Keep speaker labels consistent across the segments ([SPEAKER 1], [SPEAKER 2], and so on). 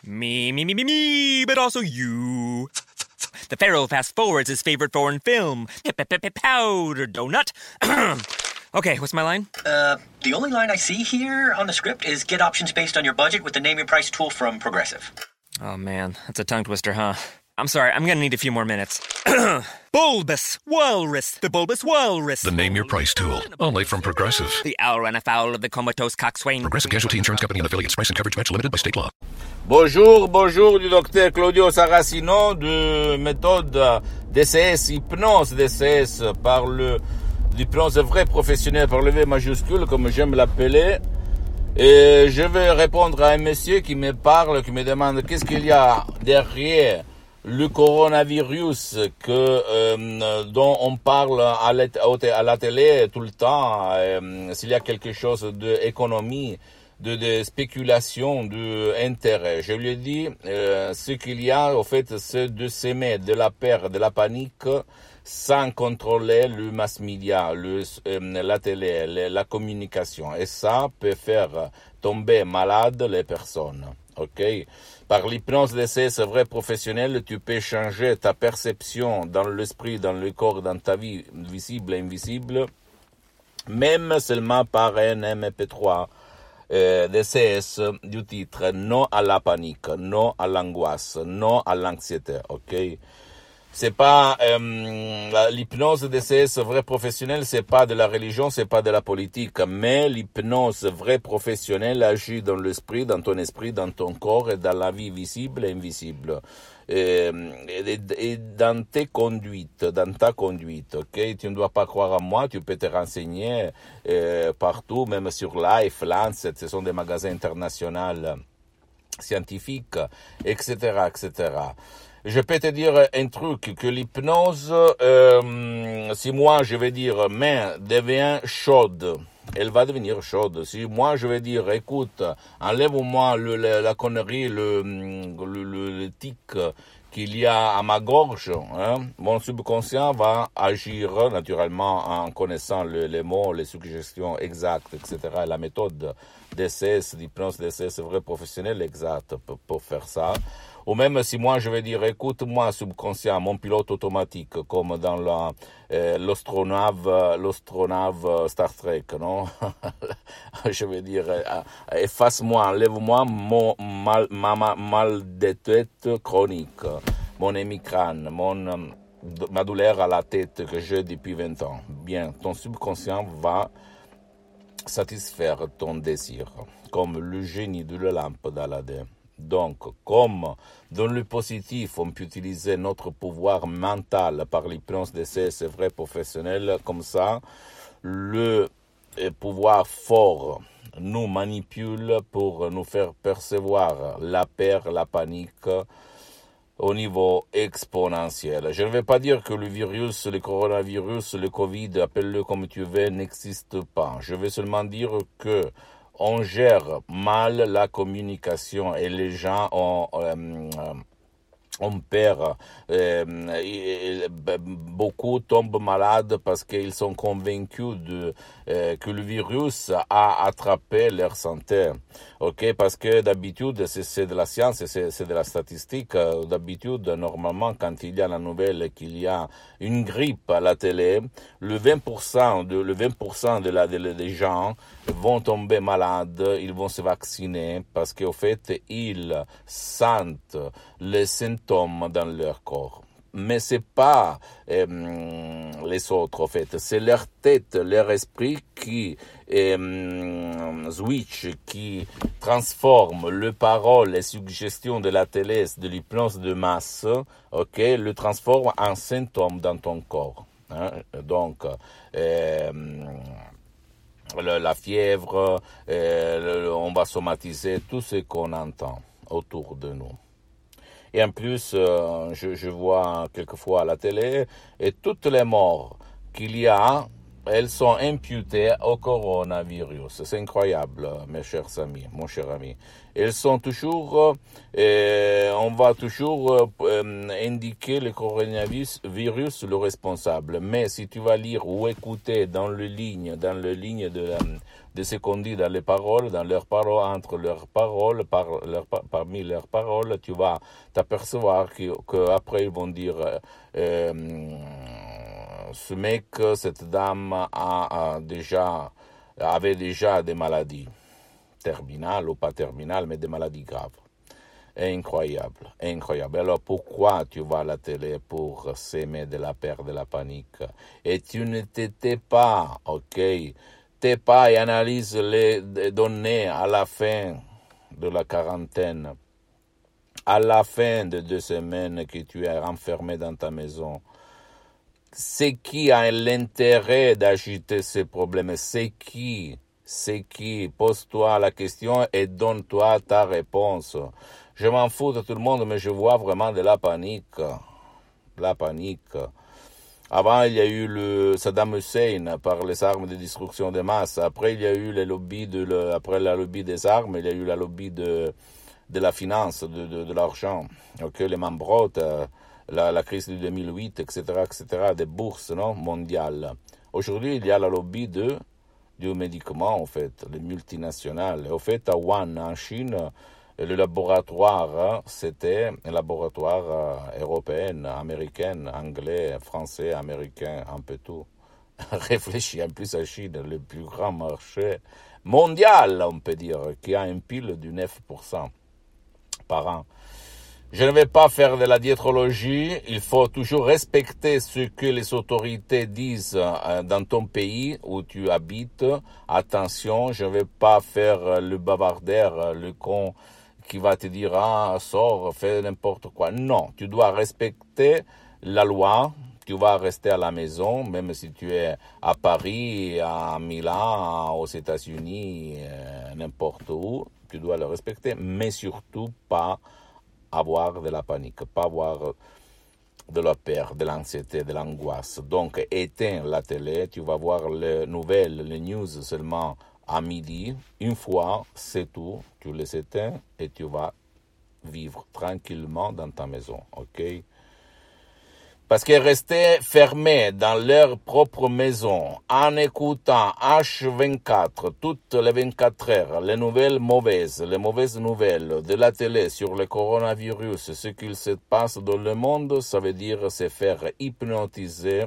[SPEAKER 1] Me, but also you. The Pharaoh fast forwards his favorite foreign film, Powder Donut. Okay, what's my line?
[SPEAKER 2] The only line I see here on the script is get options based on your budget with the Name Your Price tool from Progressive.
[SPEAKER 1] Oh man, that's a tongue twister, huh? I'm sorry, I'm gonna need a few more minutes. Bulbous Walrus, the Bulbous Walrus.
[SPEAKER 3] The Name Your Price tool, only from Progressive.
[SPEAKER 1] The owl ran afoul of the comatose coxswain.
[SPEAKER 3] Progressive Casualty Insurance Company and affiliates. Price and coverage match limited by state law.
[SPEAKER 4] Bonjour du docteur Claudio Saracino de méthode DCS, hypnose DCS par l'hypnose vrai professionnel par le V majuscule comme j'aime l'appeler. Et je vais répondre à un monsieur qui me parle, qui me demande qu'est-ce qu'il y a derrière le coronavirus dont on parle à la télé tout le temps, s'il y a quelque chose d'économie, de spéculation, d'intérêt. Je lui ai dit, ce qu'il y a, au fait, c'est de s'aimer de la peur, de la panique, sans contrôler le mass media, la télé, la communication. Et ça peut faire tomber malade les personnes. Ok? Par l'hypnose d'essai, c'est vrai professionnel, tu peux changer ta perception dans l'esprit, dans le corps, dans ta vie, visible et invisible, même seulement par un MP3 DCS du titre non à la panique, non à l'angoisse, non à l'anxiété, ok? C'est pas l'hypnose DCS vrai professionnel, c'est pas de la religion, c'est pas de la politique, mais l'hypnose vrai professionnel agit dans l'esprit, dans ton esprit, dans ton corps et dans la vie visible et invisible. Et dans tes conduites, dans ta conduite, ok? Tu ne dois pas croire à moi, tu peux te renseigner partout, même sur Life, Lancet, ce sont des magasins internationaux scientifiques, etc., etc. Je peux te dire un truc, que l'hypnose, si moi je vais dire main devient chaude, elle va devenir chaude. Si moi je vais dire écoute, enlève-moi la connerie, le tic qu'il y a à ma gorge, hein, mon subconscient va agir naturellement en connaissant les mots, les suggestions exactes, etc. La méthode d'essai, l'hypnose d'essai, c'est vrai professionnel exact pour faire ça. Ou même si moi je vais dire, écoute-moi subconscient, mon pilote automatique, comme dans l'astronave Star Trek, non? Je vais dire, efface-moi, enlève-moi ma mal de tête chronique, mon hémicrane, ma douleur à la tête que j'ai depuis 20 ans. Bien, ton subconscient va satisfaire ton désir, comme le génie de la lampe d'Aladin. Donc, comme dans le positif, on peut utiliser notre pouvoir mental par l'hypnose d'essai, c'est vrai professionnel, comme ça, le pouvoir fort nous manipule pour nous faire percevoir la peur, la panique au niveau exponentiel. Je ne vais pas dire que le virus, le coronavirus, le Covid, appelle-le comme tu veux, n'existe pas. Je vais seulement dire que on gère mal la communication et les gens on perd, beaucoup tombent malades parce qu'ils sont convaincus que le virus a attrapé leur santé. Ok, parce que d'habitude, c'est de la science, c'est de la statistique. D'habitude, normalement, quand il y a la nouvelle qu'il y a une grippe à la télé, le 20% des gens vont tomber malades, ils vont se vacciner parce qu'au fait, ils sentent les symptômes dans leur corps. Mais c'est pas les autres, en fait. C'est leur tête, leur esprit qui switch, qui transforme les paroles, les suggestions de la télé, de l'hypnose de masse, ok, le transforme en symptômes dans ton corps. Hein? Donc, la fièvre, on va somatiser tout ce qu'on entend autour de nous. Et en plus, je vois quelquefois à la télé, et toutes les morts qu'il y a elles sont imputées au coronavirus. C'est incroyable, mes chers amis, mon cher ami. Elles sont toujours, on va toujours indiquer le coronavirus le responsable. Mais si tu vas lire ou écouter dans le ligne de ce qu'on dit dans les paroles, dans leurs paroles, entre leurs paroles, parmi leurs paroles, tu vas t'apercevoir que après ils vont dire ce mec, cette dame avait déjà des maladies terminales ou pas terminales, mais des maladies graves. Incroyable, incroyable. Alors pourquoi tu vas à la télé pour s'aimer de la peur, de la panique? Et tu ne t'étais pas, ok? T'es pas et analyse les données à la fin de la quarantaine, à la fin de 2 semaines que tu es enfermé dans ta maison. C'est qui a l'intérêt d'agiter ces problèmes? C'est qui? Pose-toi la question et donne-toi ta réponse. Je m'en fous de tout le monde, mais je vois vraiment de la panique. La panique. Avant, il y a eu le Saddam Hussein par les armes de destruction de masse. Après, il y a eu les lobbies après la lobby des armes, il y a eu la lobby de la finance, de l'argent. Ok, les Mambrotes, la crise de 2008, etc., des bourses, non, mondiales. Aujourd'hui, il y a la lobby du médicament, en fait, les multinationales. En fait, à Wuhan, en Chine, le laboratoire, c'était un laboratoire européen, américain, anglais, français, américain, un peu tout. Réfléchis, en plus à Chine, le plus grand marché mondial, on peut dire, qui a un PIB de 9% par an. Je ne vais pas faire de la diétrologie, il faut toujours respecter ce que les autorités disent dans ton pays où tu habites. Attention, je ne vais pas faire le bavardeur, le con qui va te dire « Ah, sors, fais n'importe quoi ». Non, tu dois respecter la loi, tu vas rester à la maison, même si tu es à Paris, à Milan, aux États-Unis, n'importe où, tu dois le respecter, mais surtout pas avoir de la panique, pas avoir de la peur, de l'anxiété, de l'angoisse. Donc, éteins la télé, tu vas voir les nouvelles, les news seulement à midi. Une fois, c'est tout. Tu les éteins et tu vas vivre tranquillement dans ta maison, ok? Parce que rester fermés dans leur propre maison, en écoutant H24, toutes les 24 heures, les mauvaises nouvelles de la télé sur le coronavirus, ce qu'il se passe dans le monde, ça veut dire se faire hypnotiser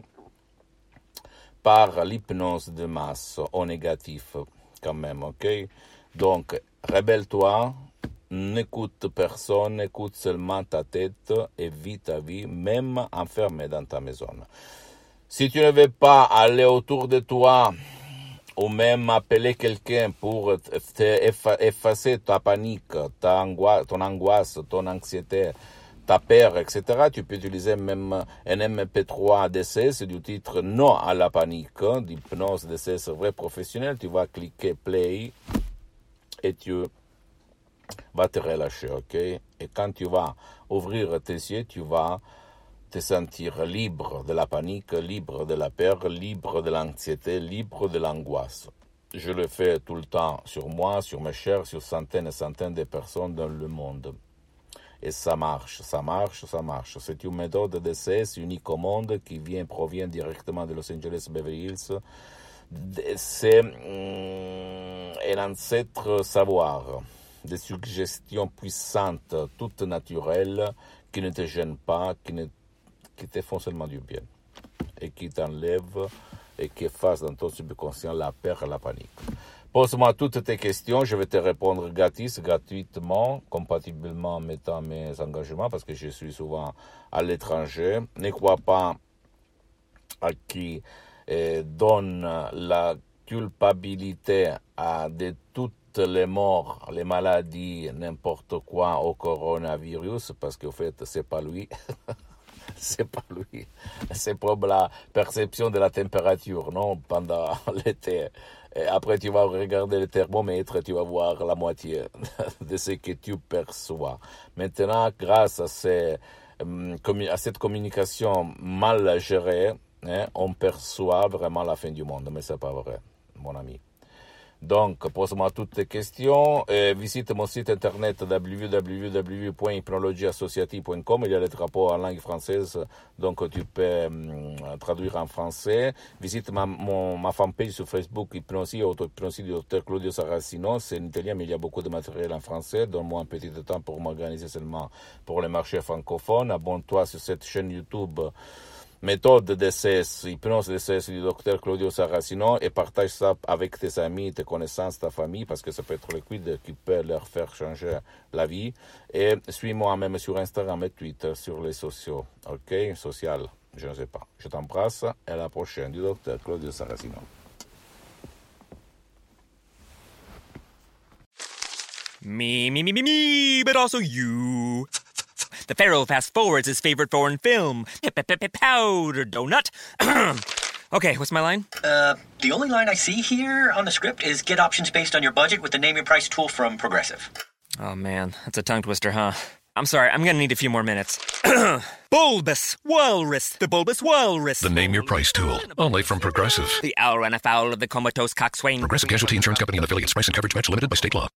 [SPEAKER 4] par l'hypnose de masse, au négatif, quand même, ok? Donc, rebelle-toi. N'écoute personne, écoute seulement ta tête et vis ta vie, même enfermé dans ta maison. Si tu ne veux pas aller autour de toi ou même appeler quelqu'un pour effacer ta panique, ton angoisse, ton anxiété, ta peur, etc., tu peux utiliser même un MP3 DCS du titre Non à la panique, d'hypnose DCS vrai professionnel. Tu vas cliquer play et tu va te relâcher, ok? Et quand tu vas ouvrir tes yeux, tu vas te sentir libre de la panique, libre de la peur, libre de l'anxiété, libre de l'angoisse. Je le fais tout le temps sur moi, sur mes chers, sur centaines et centaines de personnes dans le monde. Et ça marche. C'est une méthode DCS unique au monde qui provient directement de Los Angeles Beverly Hills. C'est un ancêtre savoir. Des suggestions puissantes, toutes naturelles, qui ne te gênent pas, qui te font seulement du bien, et qui t'enlèvent et qui effacent dans ton subconscient la peur et la panique. Pose-moi toutes tes questions, je vais te répondre gratuitement, compatiblement en mettant mes engagements, parce que je suis souvent à l'étranger. Ne crois pas à qui donne la culpabilité de toutes les morts, les maladies, n'importe quoi au coronavirus, parce qu'en fait, c'est pas lui. C'est pas lui. C'est pour la perception de la température, non, pendant l'été. Et après, tu vas regarder le thermomètre, tu vas voir la moitié de ce que tu perçois. Maintenant, grâce à cette communication mal gérée, on perçoit vraiment la fin du monde, mais c'est pas vrai, mon ami. Donc, pose-moi toutes tes questions. Visite mon site internet www.hypnologieassociative.com. Il y a les drapeaux en langue française, donc tu peux traduire en français. Visite ma fanpage sur Facebook, Hypnosie, Auto-Hypnosie du Dr Claudio Saracino. C'est en italien, mais il y a beaucoup de matériel en français. Donne-moi un petit temps pour m'organiser seulement pour les marchés francophones. Abonne-toi sur cette chaîne YouTube. Méthode DCS, hypnose DCS du Dr Claudio Saracino et partage ça avec tes amis, tes connaissances, ta famille parce que ça peut être liquide qui peut leur faire changer la vie. Et suis-moi même sur Instagram et Twitter, sur les sociaux, ok? Social, je ne sais pas. Je t'embrasse et à la prochaine du Dr Claudio Saracino.
[SPEAKER 1] Me, but also you. The Pharaoh fast forwards his favorite foreign film, Powder Donut. Okay, what's my line?
[SPEAKER 2] The only line I see here on the script is get options based on your budget with the Name Your Price tool from Progressive.
[SPEAKER 1] Oh man, that's a tongue twister, huh? I'm sorry, I'm gonna need a few more minutes. Bulbous Walrus, the Bulbous Walrus.
[SPEAKER 3] The Name Your Price tool, only from Progressive.
[SPEAKER 1] The owl ran afoul of the comatose coxswain.
[SPEAKER 3] Progressive Casualty Insurance Company and affiliates. Price and coverage match limited by state law.